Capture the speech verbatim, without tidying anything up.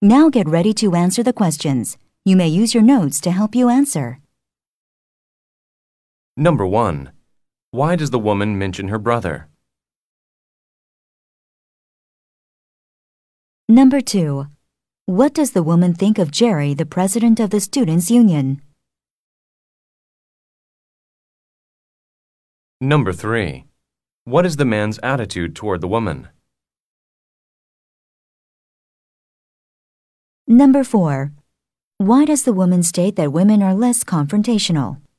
Now get ready to answer the questions. You may use your notes to help you answer. Number one. Why does the woman mention her brother? Number two. What does the woman think of Jerry, the president of the Students' Union? Number three. What is the man's attitude toward the woman? Number four. Why does the woman state that women are less confrontational?